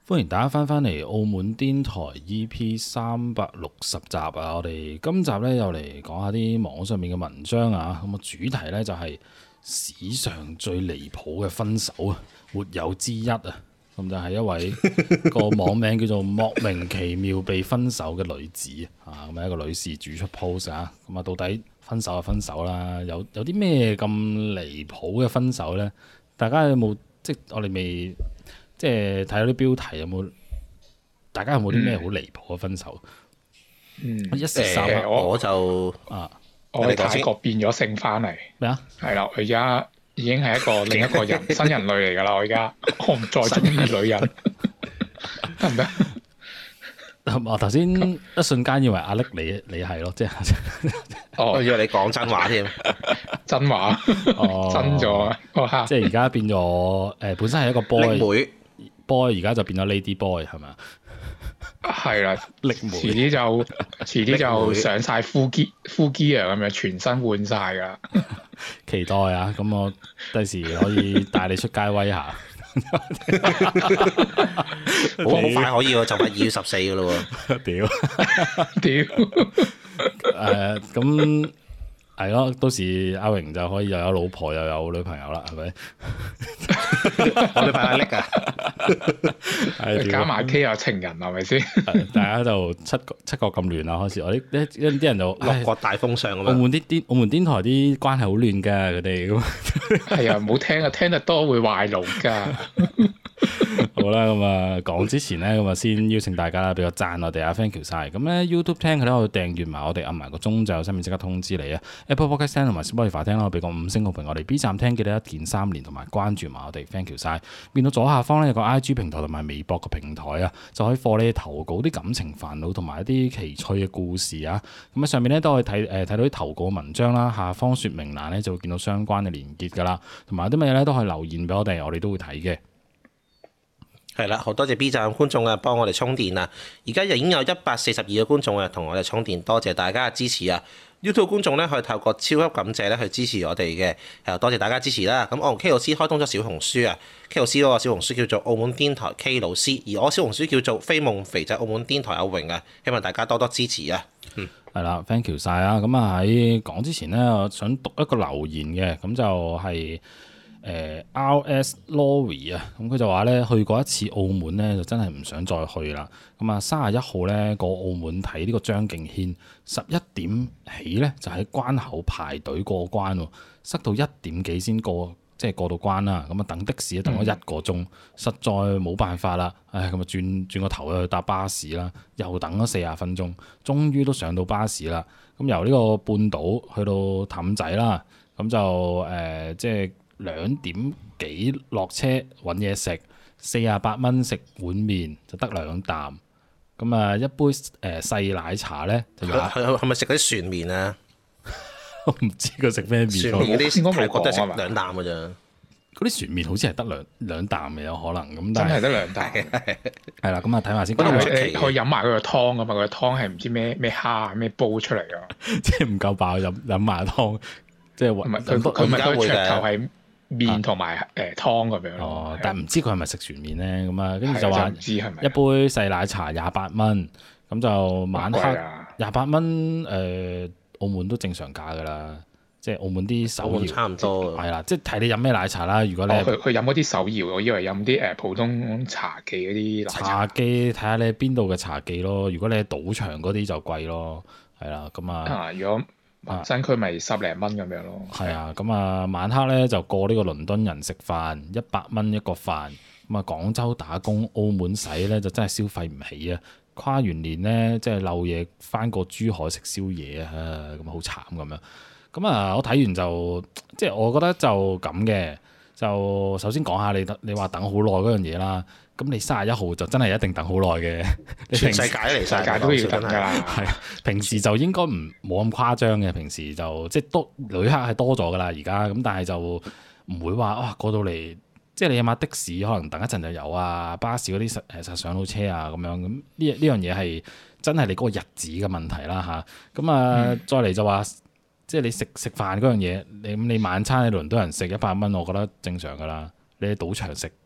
歡迎大家翻嚟澳門癲台 EP 360集啊！我哋今集咧又嚟講下啲網上面嘅文章啊，咁個主題咧就係史上最離譜嘅分手啊，沒有之一啊！咁就係一位個網名叫做莫名其妙被分手嘅女子啊，咁係一個女事主出 post 啊，咁啊到底分手就分手啦，有啲咩咁離譜嘅分手咧？大家有冇即係我哋未？即係睇到啲標題有冇？大家有冇啲咩好離譜嘅分手？一時三刻我就我喺泰國變咗性翻嚟咩啊？ 係啦，我而家已經係一個另一個人新人類嚟㗎啦！我而家我唔再中意女人，得唔得？ 我頭先一瞬間以為阿力你係咯，即係我以為你講真話添， 真話真咗即係而家變咗本身係一個 boy，而家就變咗 lady boy 係咪啊？ 係啦， 力妹， 遲啲就上晒 full gear 咁樣，全身換晒㗎啦！ 期待啊！咁我第時可以帶你出街威下。 好快可以喎，就快2月14㗎咯喎！ 咁係咯，到時阿榮就可以又有老婆又有女朋友啦，係咪？ 我女朋友叻啊！ 加埋 K 有情人係咪先？ 大家就七國咁亂啦，開始我啲人就六國大封相咁樣。 澳門癲台啲關係好亂㗎，佢哋咁。 係啊，唔好聽啊，聽得多會壞腦㗎。 好啦，咁啊講之前咧，咁啊先邀請大家啦，俾個讚我哋啊 ，thank you 晒。咁咧 YouTube 聽佢咧，可以訂閱埋我哋，按埋個鐘就有新片即刻通知你啊。Apple Podcast 聽同埋 Spotify 聽啦，俾個5星好評我哋。B 站聽記得一鍵3連同埋關注埋我哋 ，thank you 晒。變到左下方咧有個 IG 平台同埋微博個平台啊，就可以放你投稿啲感情煩惱同埋一啲奇趣嘅故事啊。咁喺上面咧都可以睇到啲投稿文章啦，下方說明欄咧就會見到相關嘅連結噶啦，同埋啲乜嘢咧都可以留言俾我哋都會睇嘅。 係啦，好多謝 B 站觀眾啊，幫我哋充電啊！而家已經有142個觀眾啊，同我哋充電，多謝大家嘅支持啊！YouTube 觀眾咧可以透過超級感謝咧去支持我哋嘅，多謝大家支持啦！咁我同 K 老師開通咗小紅書啊 ，K 老師嗰個小紅書叫做澳門癲台 K 老師，而我小紅書叫做飛夢肥仔澳門癲台阿榮啊，希望大家多多支持啊！ 係啦 ，thank you 晒啊！咁啊喺講之前咧，我想讀一個留言嘅，咁就係、R.S. Lorry 啊，咁佢就話咧去過一次澳門咧，就真係唔想再去啦。咁啊31號咧過澳門睇呢個張敬軒，11點起咧就喺關口排隊過關，塞到1點幾先過，即係過到關啦。咁啊等的士等咗1個鐘，實在冇辦法啦。唉，咁啊轉個頭去搭巴士啦，又等咗40分鐘，終於都上到巴士啦。咁由呢個半島去到氹仔啦，咁就即係2點幾落車揾嘢食，48蚊食碗麵就得2啖。咁啊一杯細奶茶咧就係咪食嗰啲船麵啊？ 我唔知佢食咩麵。 船麵嗰啲泰國都係食2啖嘅咋。嗰啲船麵好似係得兩啖嘅，有可能咁。 真係得2啖。 係啦，咁啊睇下先。 你可以飲埋佢個湯啊嘛，佢個湯係唔知咩蝦咩煲出嚟㗎。 即係唔夠飽飲埋湯，即係佢咪佢噱頭係麵同埋湯咁樣咯。 但係唔知佢係咪食船麵咧？咁啊，跟住就話一杯細奶茶28蚊，咁就晚黑28蚊。澳門都正常價㗎啦，即係澳門啲手搖差唔多。 係啦，即係睇你飲咩奶茶啦。如果你去飲嗰啲手搖，我以為飲啲普通茶記嗰啲奶茶。 茶記睇下你邊度嘅茶記咯。如果你喺賭場嗰啲就貴咯，係啦，咁啊。 如果新區咪10零蚊咁樣咯。 係啊，咁啊晚黑咧就過呢個倫敦人食飯，100蚊一個飯。咁啊廣州打工，澳門使咧就真係消費唔起啊！跨完年咧即係漏夜翻過珠海食宵夜啊，咁好慘咁樣。咁啊我睇完就即係我覺得就咁嘅。就首先講下你話等好耐嗰樣嘢啦。咁你31號就真係一定等好耐嘅。 全世界嚟世界都要等㗎啦。 係平時就應該冇咁誇張嘅，平時就即係多旅客係多咗㗎啦而家。咁但係就唔會話哇過到嚟。即係你起碼的士可能等一陣就有啊，巴士嗰啲實上到車啊咁樣，咁呢樣嘢係真係你嗰個日子嘅問題啦嚇。咁再嚟就話，即係你食飯嗰樣嘢，你晚餐喺倫敦人食100蚊，我覺得正常噶啦。你喺賭場食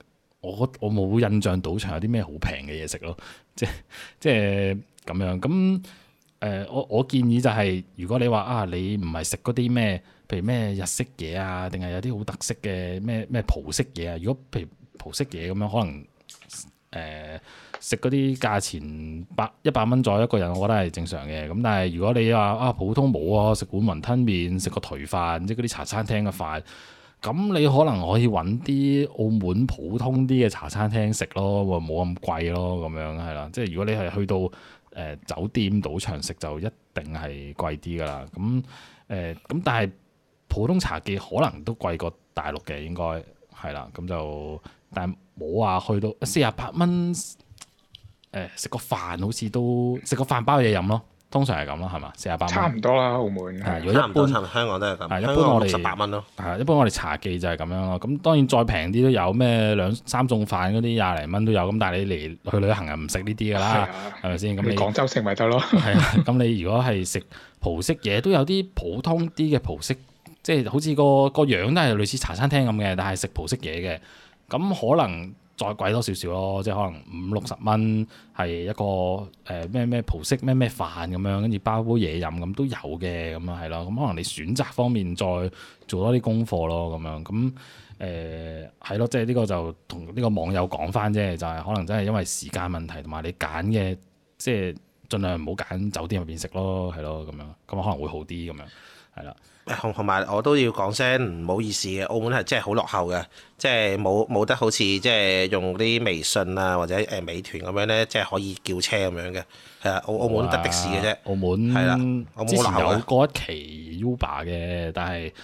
我冇印象賭場有啲咩好平嘅嘢食咯，即係咁樣咁。我建議就係，如果你話啊，你唔係食嗰啲咩，譬如咩日式嘢啊，定係有啲好特色嘅咩葡式嘢啊。如果譬如葡式嘢咁樣，可能食嗰啲價錢100蚊左右一個人，我覺得係正常嘅。咁但係如果你話啊普通冇啊，食碗雲吞麵，食個頹飯，即係嗰啲茶餐廳嘅飯，咁你可能可以揾啲澳門普通啲嘅茶餐廳食咯，冇咁貴咯，咁樣係啦。即係如果你係去到酒店賭場食就一定係貴啲噶啦，咁但係普通茶記可能都貴過大陸嘅，應該係啦，咁就但係冇話去到48蚊，食個飯好似都食個飯包嘢飲咯，通常係咁咯，係嘛？48蚊差唔多啦，澳門如果一般香港都係咁， 一般我哋 18蚊咯， 一般我哋茶記就係咁樣咯。咁當然再平啲都有咩2、3餸飯嗰啲20零蚊都有，咁但係你嚟去旅行又唔食呢啲噶啦，係咪先？咁你廣州食咪得咯？ 係啊，咁你如果係食葡式嘢，都有啲普通啲嘅葡式，即係好似個樣都係類似茶餐廳咁嘅，但係食葡式嘢嘅，咁可能再貴多少少咯，即係可能50、60蚊係一個咩葡式咩飯咁樣，跟住包杯嘢飲咁都有嘅，咁樣係咯。咁可能你選擇方面再做多啲功課咯，咁樣咁係咯，即係呢個就同呢個網友講翻啫，就係可能真係因為時間問題，同埋你揀嘅即係盡量唔好揀酒店入邊食咯，係咯，咁樣咁可能會好啲咁樣，係啦。 同埋我都要講聲唔好意思嘅，澳門係真係好落後嘅，即係冇得好似即係用啲微信啊或者美團咁樣咧，即係可以叫車咁樣嘅。係啊，澳門得的士嘅啫。澳門係啦， 之前有過一期 Uber 嘅，但係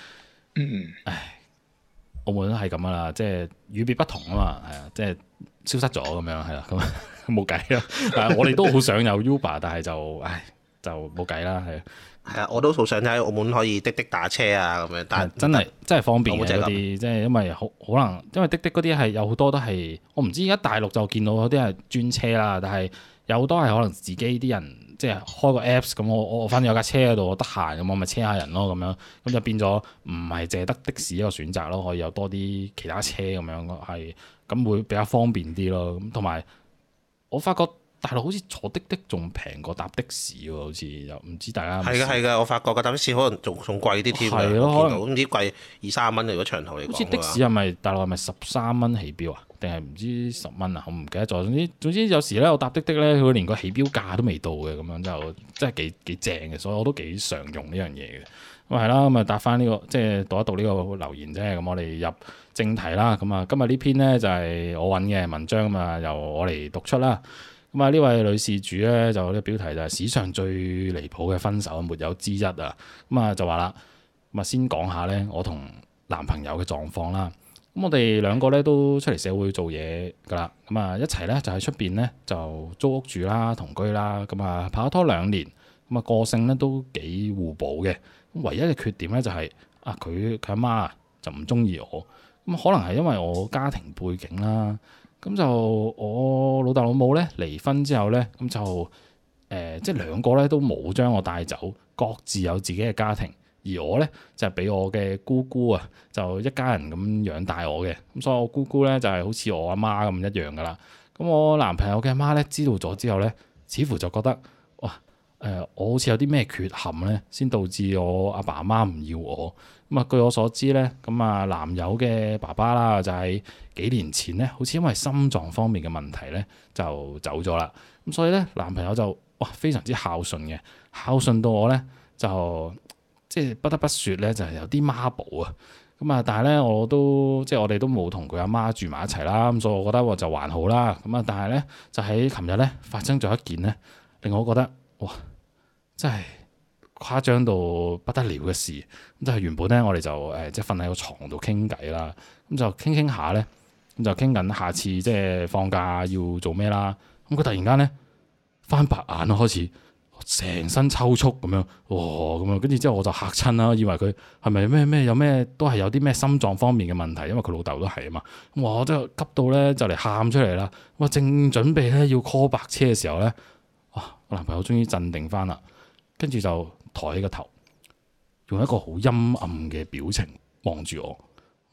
澳門都係咁噶啦，即係與別不同啊嘛，係啊，即係消失咗咁樣係啦，咁冇計啦。但係我哋都好想有 Uber，但係就冇計啦，係。 係啊，我都好想喺澳門可以滴滴打車啊咁樣，但係真係方便嘅嗰啲，即係因為可能因為滴滴嗰啲係有好多都係我唔知而家大陸就見到有啲係專車啦，但係有好多係可能自己啲人即係開個 Apps 咁，我反正有架車喺度，我得閒咁我咪車下人咯咁樣，咁就變咗唔係淨係得的士一個選擇咯，可以有多啲其他車咁樣係咁會比較方便啲咯，咁同埋我發覺。大陸好似坐滴滴仲平過搭的士喎，好似又唔知大家係㗎，我發覺個搭的士可能仲貴啲添， 係咯，可能唔知貴20-30蚊，如果長途嚟講。 好似的士係咪大陸係咪13蚊起標啊？定係唔知10蚊啊？我唔記得咗。總之有時咧，我搭滴滴咧，佢連個起標價都未到嘅，咁樣就真係幾正嘅，所以我都幾常用呢樣嘢嘅。咁係啦，咁啊答翻呢個即係讀一讀呢個留言啫。咁我哋入正題啦。咁啊今日呢篇咧就係我揾嘅文章啊，由我嚟讀出啦。咁啊呢位女事主咧就呢個標題就係史上最離譜嘅分手沒有之一啊！咁啊就話啦，咁啊先講下咧我同男朋友嘅狀況啦。咁我哋兩個咧都出嚟社會做嘢噶啦，咁啊一齊咧就喺出邊咧就租屋住啦、同居啦。咁啊拍咗拖2年，咁啊個性咧都幾互補嘅。唯一嘅缺點咧就係佢阿媽就唔中意我，咁可能係因為我家庭背景啦。咁就我老豆老母咧離婚之後咧，咁就即係兩個咧都冇將我帶走，各自有自己嘅家庭。而我咧就係俾我嘅姑姑啊，就一家人咁養大我嘅。咁所以我姑姑咧就係好似我阿媽咁一樣噶啦。咁我男朋友嘅阿媽咧知道咗之後咧，似乎就覺得哇我好似有啲咩缺陷咧，先導致我阿爸阿媽唔要我。咁啊，據我所知咧，咁啊男友嘅爸爸啦，就喺幾年前咧，好似因為心臟方面嘅問題咧，就走咗啦。咁所以咧，男朋友就非常之孝順嘅，孝順到我咧就即係不得不説咧，就係有啲媽寶啊。咁啊，但係咧我哋都冇同佢阿媽住埋一齊啦。咁所以我覺得就還好啦。咁啊，但係咧就喺琴日咧發生咗一件咧，令我覺得哇，真係誇張到不得了嘅事。咁就係原本咧我哋就即係瞓喺個床度傾偈啦。咁就傾下咧，咁就傾緊下次即係放假要做咩啦。咁佢突然間咧翻白眼咯，開始成身抽搐咁樣，哇咁樣，跟住之後我就嚇親啦，以為佢係咪咩有咩都係有啲咩心臟方面嘅問題，因為佢老豆都係啊嘛。我真係急到咧就嚟喊出嚟啦。我正準備咧要 call 白車嘅時候咧，哇！我男朋友終於鎮定翻啦，跟住就抬起個頭，用一個好陰暗嘅表情望住我。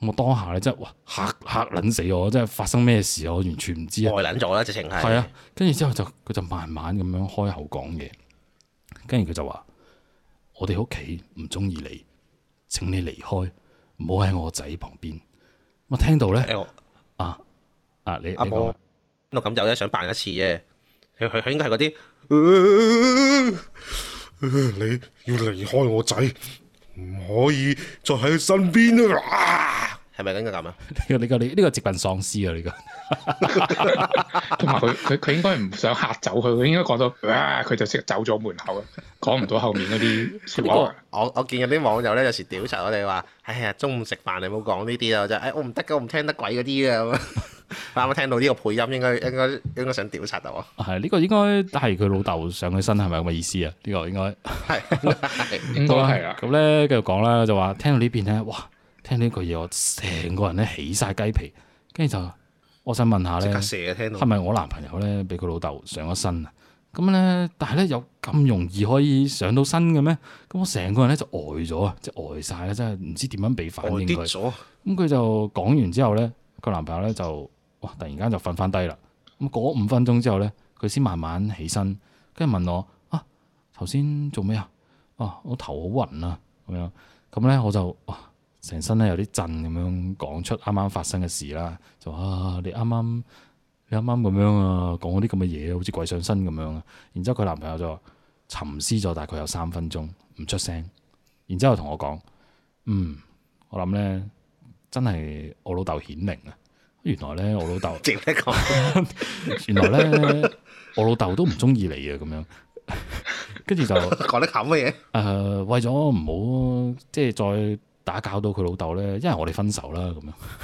我當下咧真係哇嚇撚死我，真係發生咩事我完全唔知啊！ 呆撚咗啦，直情係。 係啊，跟住之後佢就慢慢咁樣開口講嘢，跟住佢就話：我哋屋企唔中意你，請你離開，唔好喺我仔旁邊。我聽到咧，你阿婆我咁有咧想扮一次啫，佢應該係嗰啲，你要離開我仔，唔可以再喺佢身邊啊！係咪應該咁啊？ 呢個直奔喪屍啊！呢個， 同埋佢應該唔想嚇走佢，佢應該講到佢就即刻走咗門口，講唔到後面嗰啲説話。 我見有啲網友咧有時屌柒我哋話：哎呀，中午食飯你唔好講呢啲啊！就我唔得㗎，我唔聽得鬼嗰啲嘅。啱啱聽到呢個配音，應該想屌柒我。 係呢個應該係佢老豆上佢身，係咪咁嘅意思啊？呢個應該係應該係啦。 咁咧繼續講啦，就話聽到呢邊咧，哇！聽到呢句嘢，我成個人咧起晒雞皮，跟住就我想問下咧，係咪我男朋友咧俾佢老豆上咗身啊？咁咧，但係咧有咁容易可以上到身嘅咩？咁我成個人咧就呆咗啊，即係呆晒啦，真係唔知點樣俾反應佢。咁佢就講完之後咧，佢男朋友咧就哇突然間就瞓翻低啦。咁過咗5分鐘之後咧，佢先慢慢起身，跟住問我頭先做咩啊？我頭好暈啊咁樣。咁咧我就成身咧有啲震咁樣講出啱啱發生嘅事啦，就話你啱啱咁樣啊，講嗰啲咁嘅嘢，好似鬼上身咁樣啊。然之後佢男朋友就沉思咗大概有3分鐘，唔出聲。然之後同我講：我諗咧真係我老豆顯靈啊！原來咧我老豆，原來咧我老豆都唔中意你啊！咁樣，跟住就講得咁嘅嘢。 為咗唔好即係再打攪到佢老豆咧，因為我哋分手啦咁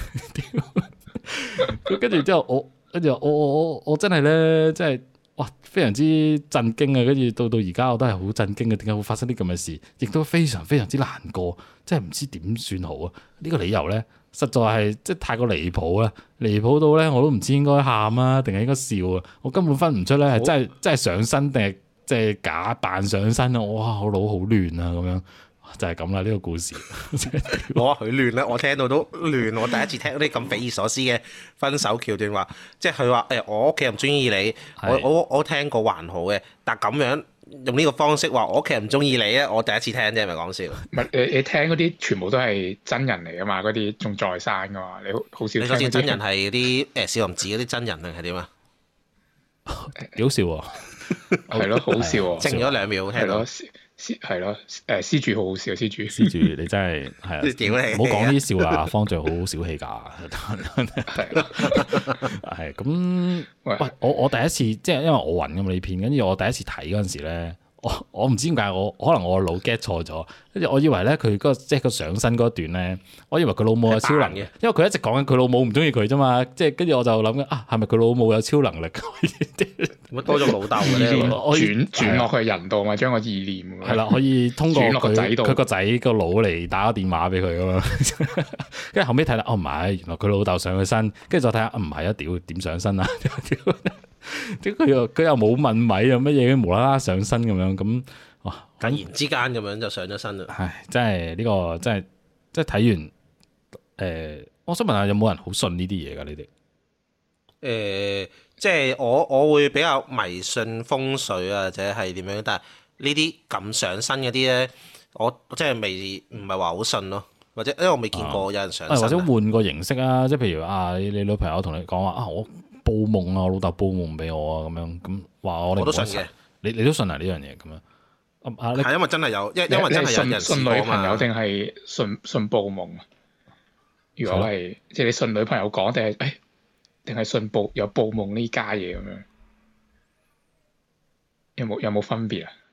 樣。跟住之後我真係咧，真係哇非常之震驚啊！跟住到而家我都係好震驚嘅，點解會發生啲咁嘅事？亦都非常非常之難過，真係唔知點算好啊！呢個理由咧，實在係即係太過離譜啦，離譜到咧我都唔知應該喊啊，定係應該笑啊！我根本分唔出咧係真係上身定係即係假扮上身啊！哇，我腦好亂啊咁樣。就係咁啦，呢個故事。 我話佢亂啦，我聽到都亂。我第一次聽啲咁匪夷所思嘅分手橋段話，即係佢話我屋企人唔中意你，我聽過還好嘅，但咁樣用呢個方式話我屋企人唔中意你咧，我第一次聽啫，係咪講笑？ 唔係你聽嗰啲全部都係真人嚟噶嘛？嗰啲仲在生噶嘛？你好少聽。你嗰啲真人係啲少林寺嗰啲真人定係點啊？ 幾好笑喎！ 係咯，好笑喎！ 靜咗2秒聽到。 係咯，施主好好笑，施主你真係係啊！唔好講呢啲笑話，方丈好小氣㗎。係咁，喂，我第一次即係因為我暈㗎嘛呢片，跟住我第一次睇嗰陣時咧，我唔知點解可能我個腦 get 錯咗，跟住我以為咧佢嗰即係個上身嗰段咧，我以為佢老母有超能嘅，因為佢一直講緊佢老母唔中意佢啫嘛，即係跟住我就諗緊係咪佢老母有超能力？ 乜多咗老豆嘅咧？ 轉落去人度嘛，將個意念係啦，可以通過轉落個仔度， 佢個仔個腦嚟打個電話俾佢㗎嘛。跟住後尾睇啦，唔係，原來佢老豆上佢身，跟住再睇下，唔係啊，屌點上身啊？點佢又冇問米又乜嘢，無啦啦上身咁樣咁，哇！ 突然之間咁樣就上咗身啦。 唉，真係呢個真係即係睇完我想問下有冇人好信呢啲嘢㗎？你哋即係我會比較迷信風水啊，或者係點樣？但係呢啲咁上身嗰啲咧，我即係唔係話好信咯，或者因為我未見過有人上身。 或者換個形式啊，即係譬如你女朋友同你講話我報夢啊，我老豆報夢俾我啊，咁樣咁話我哋。我都信嘅。你都信啊呢樣嘢咁樣？ 係因為真係有，因為真係有人信女朋友定係信報夢？如果係即係你信女朋友講定係信有報夢呢家嘢咁樣？有冇分別啊？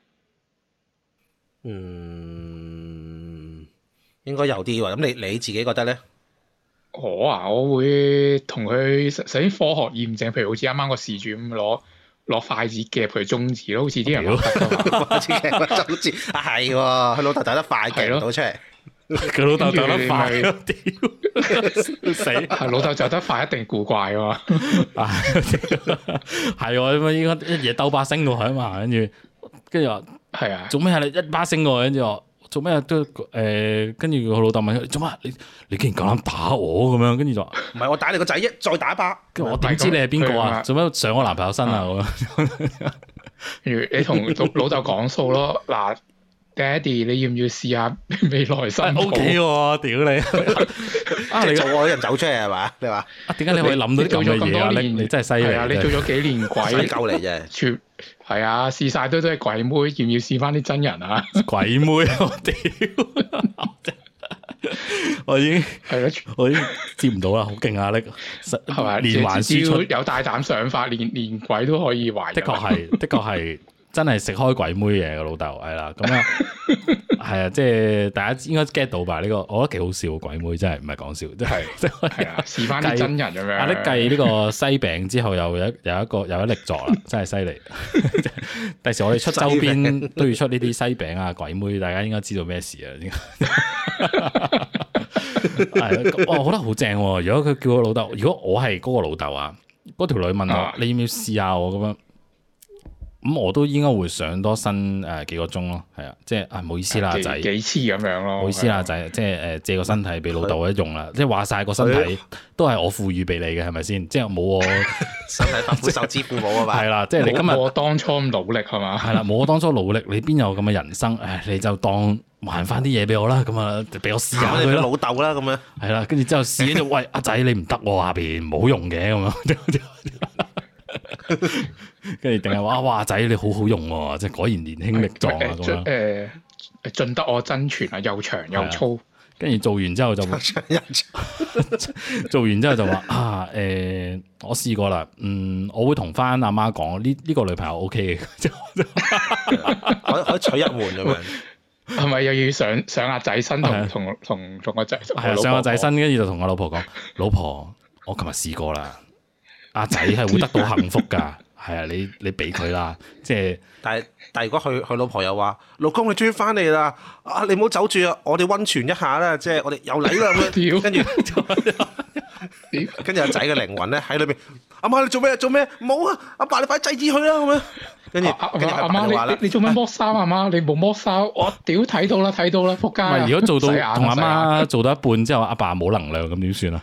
應該有啲喎。咁你自己覺得咧？ 我會同佢首先科學驗證，譬如好似啱啱個事主咁攞筷子夾佢中指咯，好似啲人話得筷子夾佢中指係喎，佢老豆走得快夾唔到出嚟。 佢老豆走得快，屌死！ 係老豆走得快一定古怪㗎嘛。 係喎，咁啊應該一嘢兜巴星過去啊嘛，跟住話係啊，做咩啊你一巴星過去，跟住話做咩都跟住個老豆問佢做乜？你竟然夠膽打我咁樣？跟住就話唔係我打你個仔啫，再打一巴。 跟住我點知你係邊個啊？做咩上我男朋友身啊？咁樣。 如你同老豆講數咯，嗱，爹哋你要唔要試下未來新抱 ？O K 喎，屌你！ 你做我啲人走出嚟係嘛？你話點解你可以諗到啲咁嘅嘢啊？你真係犀利啊！ 你做咗幾年鬼鬼狗嚟啫， 全係啊！試晒都係鬼妹，要唔要試翻啲真人啊？ 鬼妹，我屌！我已經係咯， 我已經接唔到啦，好勁啊！你係咪連環輸出有大膽想法，連鬼都可以懷。 的確係真係食開鬼妹嘢個老豆係啦，咁啊係啊，即係大家應該 get 到吧？呢個我覺得幾好笑，鬼妹真係唔係講笑，真係係啊，試翻啲真人咁樣。 你計呢個西餅之後有一力作啦，真係犀利。第時我哋出周邊都要出呢啲西餅啊鬼妹，大家應該知道咩事啊？係，我覺得好正。如果佢叫我老豆，如果我係嗰個老豆啊，嗰條女問我你要唔要試下我咁樣，咁我都應該會上多新幾個鐘咯。係啊，即係唔好意思啦仔， 幾次咁樣咯。唔好意思啦仔，即係借個身體俾老豆一用啦。即係話晒個身體都係我賦予俾你嘅，係咪先？即係冇我身體髮膚受之父母啊嘛。 係啦，即係你今日我當初咁努力係嘛？ 係啦，冇我當初努力，你邊有咁嘅人生？你就當還翻啲嘢俾我啦，咁啊俾我試下佢老豆啦，咁樣係啦，跟住之後試咗，喂阿仔你唔得喎，下邊冇用嘅咁樣。跟住定係話哇仔你好好用喎，即係果然年輕力壯啊咁樣。 盡得我真傳啊，又長又粗。 跟住做完之後就做完之後就話我試過啦，我會同翻阿媽講呢個女朋友 O K 嘅， 可以娶一門咁樣。 係咪又要上阿仔身同個仔？ 係上阿仔身，跟住就同我老婆講：老婆，我琴日試過啦，阿仔係會得到幸福㗎。係啊，你俾佢啦，即係。 但如果佢老婆又話：老公你終於翻嚟啦！啊，你唔好走住啊，我哋溫泉一下啦，即係我哋又嚟啦咁樣。跟住阿仔嘅靈魂咧喺裏邊，阿媽你做咩做咩？唔好啊！阿爸你快制止佢啦咁樣。跟住阿媽你做咩剝衫？阿媽你冇剝衫，我屌睇到啦仆街！ 唔係如果做到同阿媽做到一半之後，阿爸冇能量咁點算啊？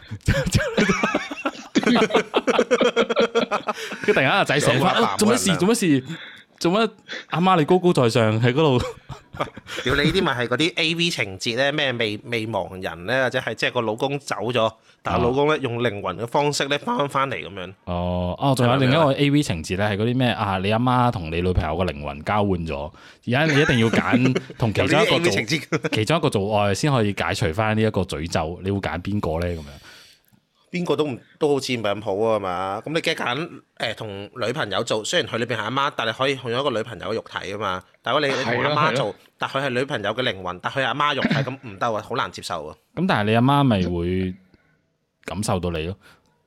佢突然間阿仔醒翻，做乜事？做乜？阿媽你高高在上喺嗰度。 屌你呢啲咪係嗰啲 A.V. 情節咧？咩未亡人咧，或者係即係個老公走咗，但係老公咧用靈魂嘅方式咧翻嚟咁樣。 仲有另一個 A.V. 情節咧，係嗰啲咩啊？你阿媽同你女朋友嘅靈魂交換咗，而家你一定要揀同其中一個做愛先可以解除翻呢一個詛咒，你會揀邊個咧？咁樣？ 邊個都好似唔係咁好啊嘛，咁你梗係揀同女朋友做，雖然佢裏邊係阿媽，但係可以用一個女朋友嘅肉體啊嘛。但係如果你同阿媽做，但佢係女朋友嘅靈魂，但佢係阿媽肉體，咁唔得啊，好難接受啊。 咁但係你阿媽咪會感受到你咯。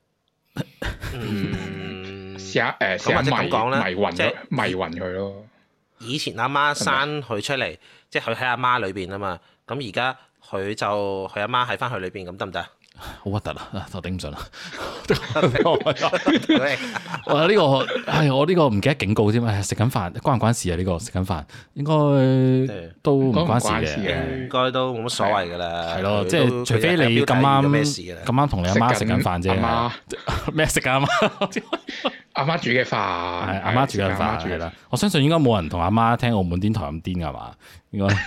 試下或者咁講啦，迷暈佢咯。 以前阿媽生佢出嚟，即係佢喺阿媽裏邊啊嘛。咁而家佢阿媽喺翻佢裏邊，咁得唔得？ 好核突啊！我頂唔順啦。我呢個唔記得警告添啊！食緊飯關唔關事啊？呢個食緊飯應該都唔關事嘅， 應該都冇乜所謂噶啦。 係咯，即係除非你咁啱同你阿媽食緊飯啫。咩食緊阿媽？ 阿媽煮嘅飯， 係阿媽煮嘅飯係啦。我相信應該冇人同阿媽聽澳門電台咁癲㗎嘛？應該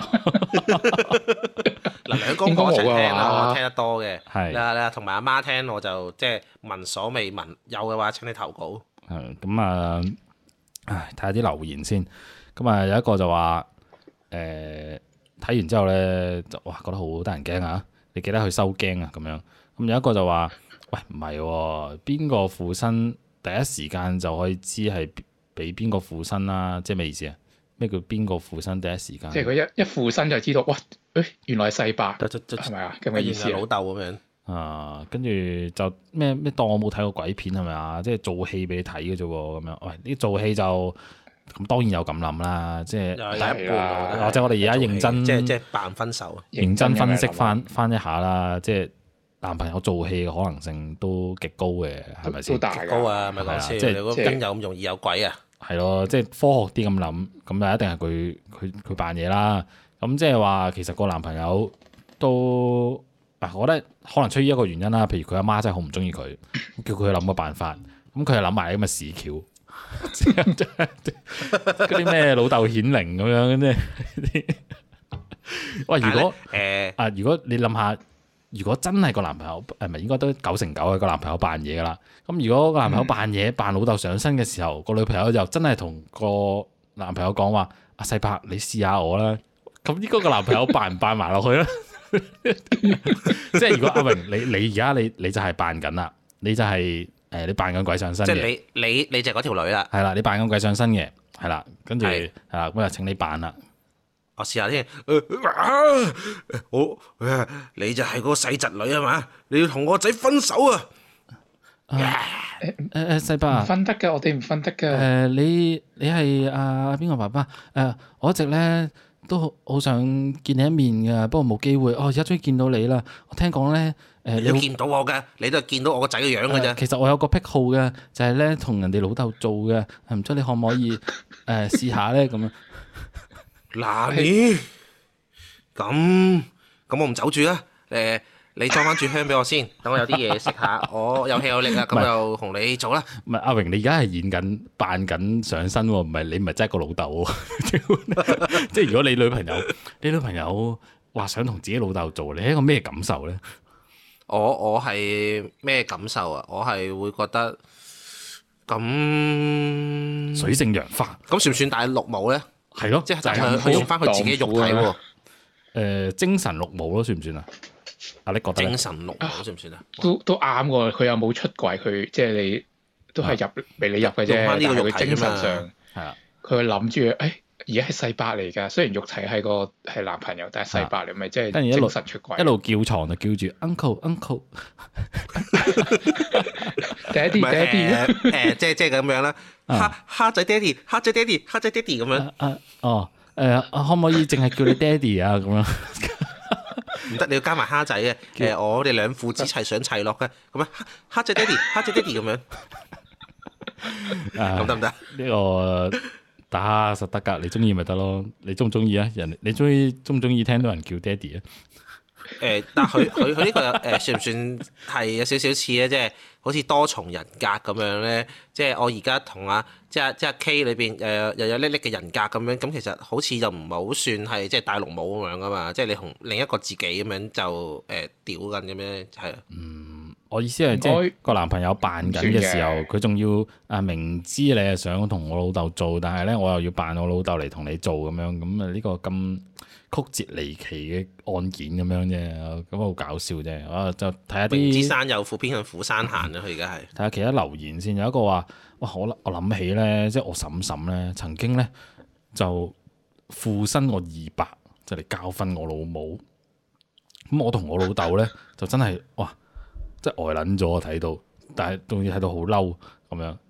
嗱，兩公婆一齊聽啦，我聽得多嘅。 係你同埋阿媽聽，我就即係聞所未聞。有嘅話請你投稿。 係咁啊，睇下啲留言先。咁啊，有一個就話睇完之後咧，就哇覺得好得人驚啊！你記得去收驚啊咁樣。咁有一個就話：喂，唔係喎，邊個附身第一時間就可以知係俾邊個附身啦？即係咩意思啊？咩叫邊個附身第一時間？ 即係佢一附身就知道，哇！原來係世伯，係咪啊？咁嘅意思老豆咁樣。 跟住就咩當我冇睇過鬼片係咪啊？即係做戲俾你睇嘅啫喎，咁樣。喂，呢做戲就咁當然有咁諗啦，即係第一半或者我哋而家認真， 即係扮分手， 認真分析翻一下啦，即係男朋友做戲嘅可能性都極高嘅，係咪先？ 都大高啊！咪講笑，即係真有咁容易有鬼啊？ 係咯，即係科學啲咁諗，咁就一定係佢扮嘢啦。 咁即係話其實個男朋友都我覺得可能出於一個原因啦，譬如佢阿媽真係好唔中意佢，叫佢去諗個辦法，咁佢又諗埋咁嘅屎橋，嗰啲咩老豆顯靈咁樣嗰啲。喂，如果如果你諗下，如果真係個男朋友係咪應該都9成9係個男朋友扮嘢噶啦？咁如果個男朋友扮嘢扮老豆上身嘅時候，個女朋友就真係同個男朋友講話：阿細伯，你試下我啦。咁應該個男朋友扮唔扮埋落去咧？即係如果阿榮你而家你就係扮緊啦，你就係你扮緊鬼上身嘅。即係你就係嗰條女啦。 係啦，你扮緊鬼上身嘅，係啦，跟住係啦，咁就請你扮啦。 我試下先。你就係嗰個細侄女啊嘛？你要同我仔分手啊？ 細伯唔分得㗎，我哋唔分得㗎。 你係邊個爸爸？我一直咧都好想見你一面㗎，不過冇機會。而家終於見到你啦！我聽講咧， 你要見到我㗎，你都係見到我個仔嘅樣㗎啫。 其實我有個癖好嘅，就係咧同人哋老豆做嘅，唔知你可唔可以試下咧咁樣？ 嗱你咁我唔走住啦。你裝翻住香俾我先，等我有啲嘢食下。我有氣有力啊，咁就同你做啦。 唔係阿榮，你而家係演緊扮緊上身喎，唔係你唔係真係個老豆喎。即係如果你女朋友話想同自己老豆做，你係一個咩感受咧？ 我係咩感受啊？我係會覺得咁水性楊花， 咁算唔算戴綠帽咧？ 係咯， 即係佢用翻佢自己肉體喎。 精神綠帽咯，算唔算啊？你覺得精神綠帽算唔算啊？ 都啱喎，佢又冇出軌，佢即係你都係俾你入嘅啫。但係佢精神上係啊， 佢諗住而家係細伯嚟㗎，雖然肉體係男朋友，但係細伯你咪即係精神出軌。 一路叫床就叫住 uncle， 爹哋， 即係咁樣啦。蝦仔爹哋，蝦仔爹哋，蝦仔爹哋咁樣。 可唔可以淨係叫你爹哋啊？咁樣唔得，你要加埋蝦仔嘅。我哋兩父子齊上齊落嘅，咁樣蝦仔爹哋，蝦仔爹哋咁樣。咁得唔得？ 呢個打實得㗎，你中意咪得咯？你中唔中意啊？你中唔中意聽到人叫爹哋啊？ 但佢呢個算唔算係有少少似咧？即係好似多重人格咁樣咧。即係我而家同即係 K 裏邊又有叻叻嘅人格咁樣。咁其實好似就唔係好算係即係戴綠帽咁樣噶嘛。即係你同另一個自己咁樣就屌緊咁樣係。 我意思係即係個男朋友扮緊嘅時候，佢仲要明知你係想同我老豆做，但係咧我又要扮我老豆嚟同你做咁樣。咁啊呢個咁曲折離奇嘅案件咁樣啫，咁好搞笑啫。我就睇下啲明知山有虎，偏向虎山行啦。佢而家係睇下其他留言先。有一個話：哇！我諗起咧，即係我嬸嬸咧，曾經咧就附身我200，就嚟教訓我老母。咁我同我老豆咧就真係哇，即係呆撚咗我睇到，但係仲要睇到好嬲咁樣。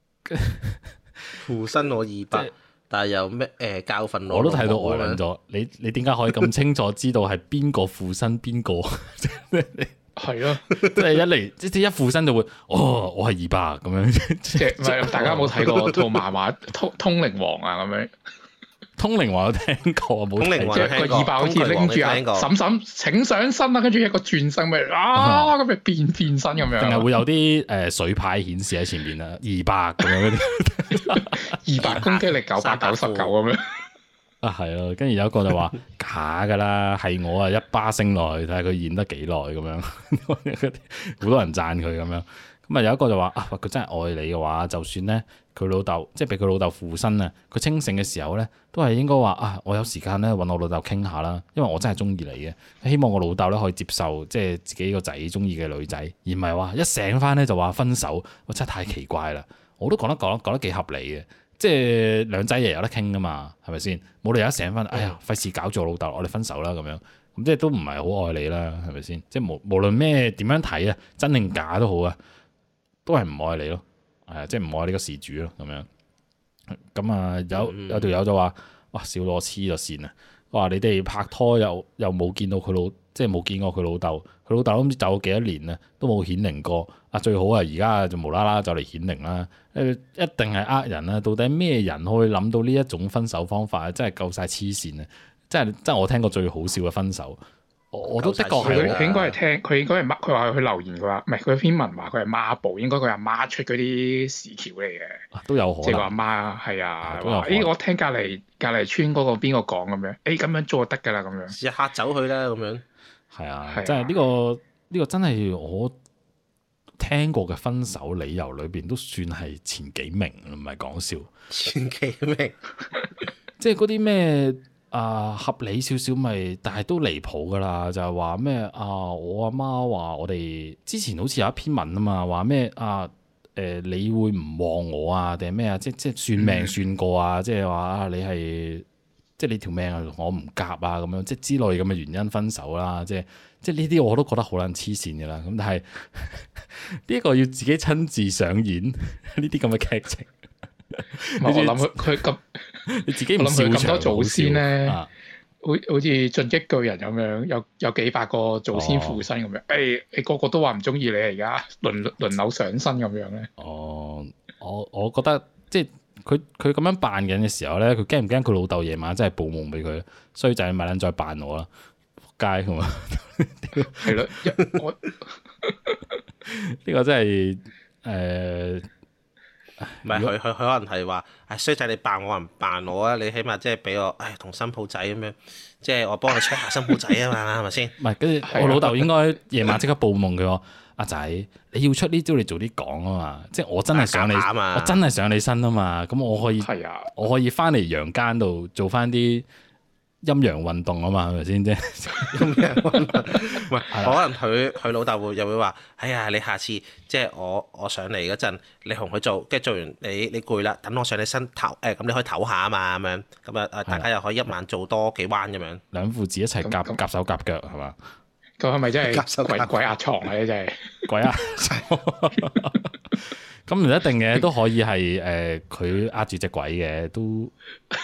附身我200。但係有咩教訓我？ 我都睇到呆撚咗。你點解可以咁清楚知道係邊個附身邊個？ 係咯， 即係一嚟即係一附身就會我係200咁樣。 即係唔係大家冇睇過套漫畫《通靈王》啊咁樣？ 通靈王有聽過，冇聽過。 即係個200好似拎住阿嬸嬸請上身啦，跟住一個轉身咪咁咪變身咁樣。 定係會有啲水牌顯示喺前面啊，200咁樣嗰啲 ，200攻擊力999咁樣。 係咯，跟住有一個就話假㗎啦，係我一巴升落去睇下佢演得幾耐咁樣，好多人讚佢咁樣。咁啊有一個就話佢真係愛你嘅話，就算咧佢老豆即係俾佢老豆附身啊，佢清醒嘅時候咧，都係應該話我有時間咧揾我老豆傾下啦，因為我真係中意你嘅，希望我老豆咧可以接受即係自己個仔中意嘅女仔，而唔係話一醒翻咧就話分手，我真係太奇怪啦。我都講得幾合理嘅，即係兩仔爺有得傾噶嘛，係咪先？冇理由一醒翻，哎呀費事搞住我老豆，我哋分手啦咁樣，咁即係都唔係好愛你啦，係咪先？即係無論咩點樣睇啊，真定假都好啊，都係唔愛你咯，即係唔愛呢個事主咯，咁樣。咁啊有條友就話：哇，笑到我黐咗線啊！話你哋拍拖又冇見到佢即係冇見過佢老豆，佢老豆都唔知走咗幾多年啦，都冇顯靈過。最好而家就無啦啦就嚟顯靈啦！一定係人啦！到底咩人可以諗到呢一種分手方法啊？真係夠晒黐線啊！ 真係我聽過最好笑嘅分手。我都的確係佢應該係聽，佢應該係佢話佢留言，佢話唔係佢篇文話佢係媽寶，應該佢阿媽出嗰啲屎橋嚟嘅， 都有可能。 即係個阿媽係啊，話我聽隔離村嗰個邊個講咁樣，咁樣做就得㗎啦咁樣， 試下嚇走佢啦咁樣。 係啊，即係呢個真係我聽過嘅分手理由裏邊都算係前幾名，唔係講笑。 前幾名， 即係嗰啲咩？合理少少咪，但係都離譜噶啦，就係話咩我阿媽話我哋之前好似有一篇文啊嘛，話咩你會唔旺我啊，定係咩啊？即係算命算過啊，即係話你係即係你條命啊，我唔夾啊咁樣，即係之類咁嘅原因分手啦。即係呢啲我都覺得好撚黐線嘅啦。咁但係呢一個要自己親自上演呢啲咁嘅劇情。 我諗佢咁， 你自己我諗佢咁多祖先咧， 好似進擊巨人咁樣，有幾百個祖先附身咁樣。你個個都話唔中意你，而家輪流上身咁樣咧。 我覺得即係佢咁樣扮緊嘅時候咧，佢驚唔驚佢老豆夜晚真係報夢俾佢？衰仔咪撚再扮我啦，仆街咁啊！ 係咯， 呢個真係唔係佢可能係話，衰仔你扮我唔扮我啊！你起碼即係俾我，同新抱仔咁樣，即係我幫你 check 下新抱仔啊嘛，係咪先？ 唔係，跟住我老豆應該夜晚即刻報夢佢話：阿仔，你要出呢招，你早啲講啊嘛！即係我真係想你，我真係上你身啊嘛！咁我可以翻嚟陽間度做翻啲陰陽運動啊嘛，係咪先啫？ 陰陽運動，唔係可能佢老豆又會話：哎呀，你下次即係我上嚟嗰陣，你同佢做，跟住做完你攰啦，等我上你身唞，咁你可以唞下啊嘛，咁樣咁啊大家又可以一晚做多幾彎咁樣。 兩父子一齊夾手夾腳係嘛？ 咁係咪真係鬼壓床啊？真係鬼壓床。咁唔一定嘅，都可以係佢壓住隻鬼嘅都。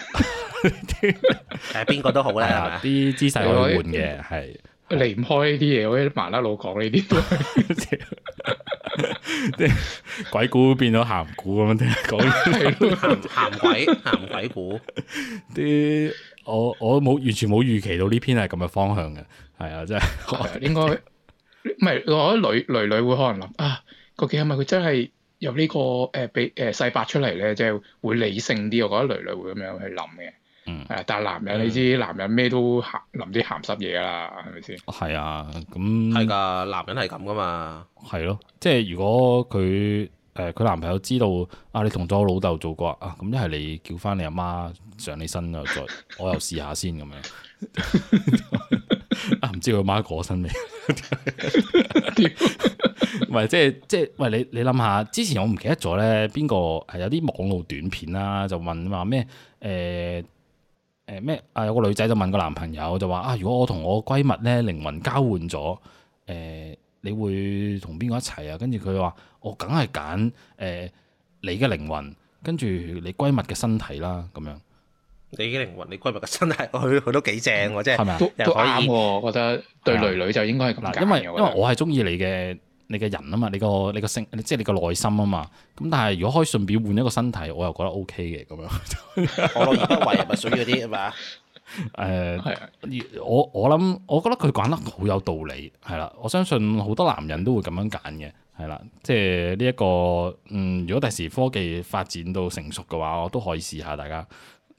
邊個都好啦，係嘛？ 啲姿勢可以換嘅，係離唔開呢啲嘢。我啲麻甩佬講呢啲都係即係鬼故變咗鹹故咁樣聽講， 鹹鬼故啲我冇完全冇預期到呢篇係咁嘅方向嘅，係啊，真係應該唔係。我覺得女會可能諗究竟係咪佢真係有呢個俾細伯出嚟咧，即係會理性啲。我覺得女會咁樣去諗嘅。但係男人你知，男人咩都諗啲鹹濕嘢啦，係咪先？ 係啊，咁係㗎，男人係咁噶嘛。 係咯，即係如果佢男朋友知道你同咗我老豆做過咁一係你叫翻你阿媽上你身啊，再我又試下先咁樣。唔知佢阿媽過身未？唔係即係喂，你諗下，之前我唔記得咗咧，邊個係有啲網絡短片啦，就問話咩咩有個女仔就問個男朋友就話如果我同我閨蜜咧靈魂交換咗，你會同邊個一齊啊？跟住佢話我梗係揀你嘅靈魂，跟住你閨蜜嘅身體啦，咁樣。 你嘅靈魂，你閨蜜嘅身體，佢都幾正喎，即係都啱喎。我覺得對女就應該係咁揀。 因為我係中意你嘅人啊嘛，你個性，即係你個內心啊嘛。咁但係如果可以順便換一個身體，我又覺得 O K 嘅咁樣。 我樂而不為係咪屬於嗰啲係嘛？ 我覺得佢講得好有道理，係啦。我相信好多男人都會咁樣揀嘅，係啦。即係呢一個如果第時科技發展到成熟嘅話，我都可以試下大家。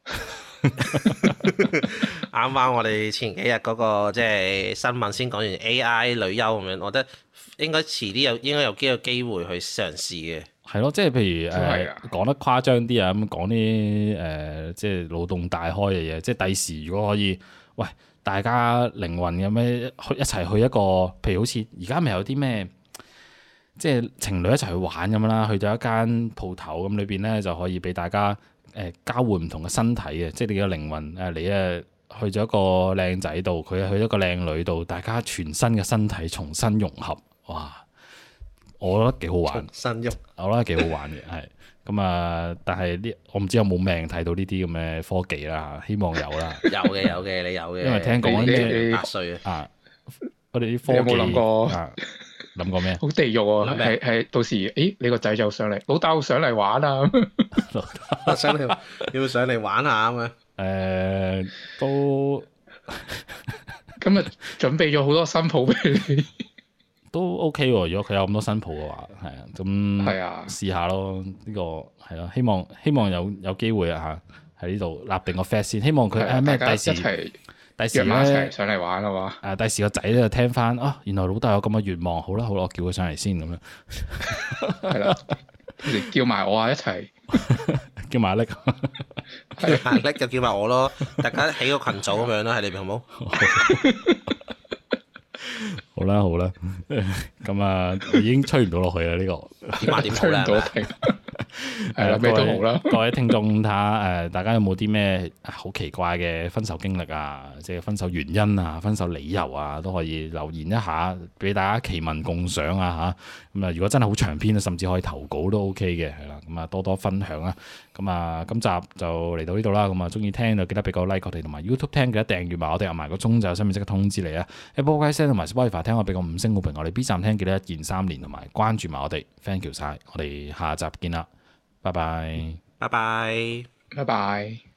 啱啱我哋前幾日嗰個即係新聞先講完 AI 女優咁樣，我覺得應該遲啲應該有機會去嘗試嘅。係咯，即係譬如講得誇張啲啊，咁講啲即係腦洞大開嘅嘢。即係第時如果可以，喂，大家靈魂咁樣一齊去一個，譬如好似而家咪有啲咩，即係情侶一齊去玩咁樣啦，去到一間鋪頭咁裏邊咧就可以俾大家。交換唔同嘅身體嘅，即係你嘅靈魂你去咗一個靚仔度，佢去咗一個靚女度，大家全新嘅身體重新融合，哇！我覺得幾好玩，我覺得幾好玩嘅，係咁啊！但係我唔知有冇命睇到呢啲咁嘅科技啦，希望有啦。有嘅，你有嘅。因為聽講啲8歲我哋啲科技有冇諗過？諗過咩？好地獄啊！係到時，你個仔就上嚟，老豆上嚟玩啊！要上嚟玩下咁樣。都今日準備咗好多新抱俾你， 都 OK 喎。如果佢有咁多新抱嘅話，係啊，咁係啊，試下咯。呢個係咯，希望有機會啊嚇，喺呢度立定個 flag 先。希望佢咩第時咧上嚟玩啊嘛。 第時個仔咧就聽翻啊，原來老豆有咁嘅願望，好啦，我叫佢上嚟先咁樣。 係啦，叫埋我啊一齊， 叫埋阿叻， 阿叻就叫埋我咯，大家起個群組咁樣啦，喺裏邊好冇？ 好啦好啦，咁啊已經吹唔到落去啦呢個， 點話點吹唔到停？ 係啦，咩都好啦。 各位聽眾睇下大家有冇啲咩好奇怪嘅分手經歷啊？即係分手原因啊、分手理由啊，都可以留言一下，俾大家奇聞共賞啊嚇。咁啊，如果真係好長篇，甚至可以投稿都 OK 嘅，係啦。咁啊，多多分享啦。咁啊，今集就嚟到呢度啦。咁啊，中意聽就記得俾個 like 我哋，同埋 YouTube 聽記得訂閱埋我哋，入埋個鐘就有新片即刻通知你啊。Apple Podcast 同埋 Spotify 聽我俾個5星好評，我哋 B 站聽記得1鍵3連，同埋關注埋我哋 ，thank you 晒，我哋下集見啦。拜拜， 拜拜， 拜拜。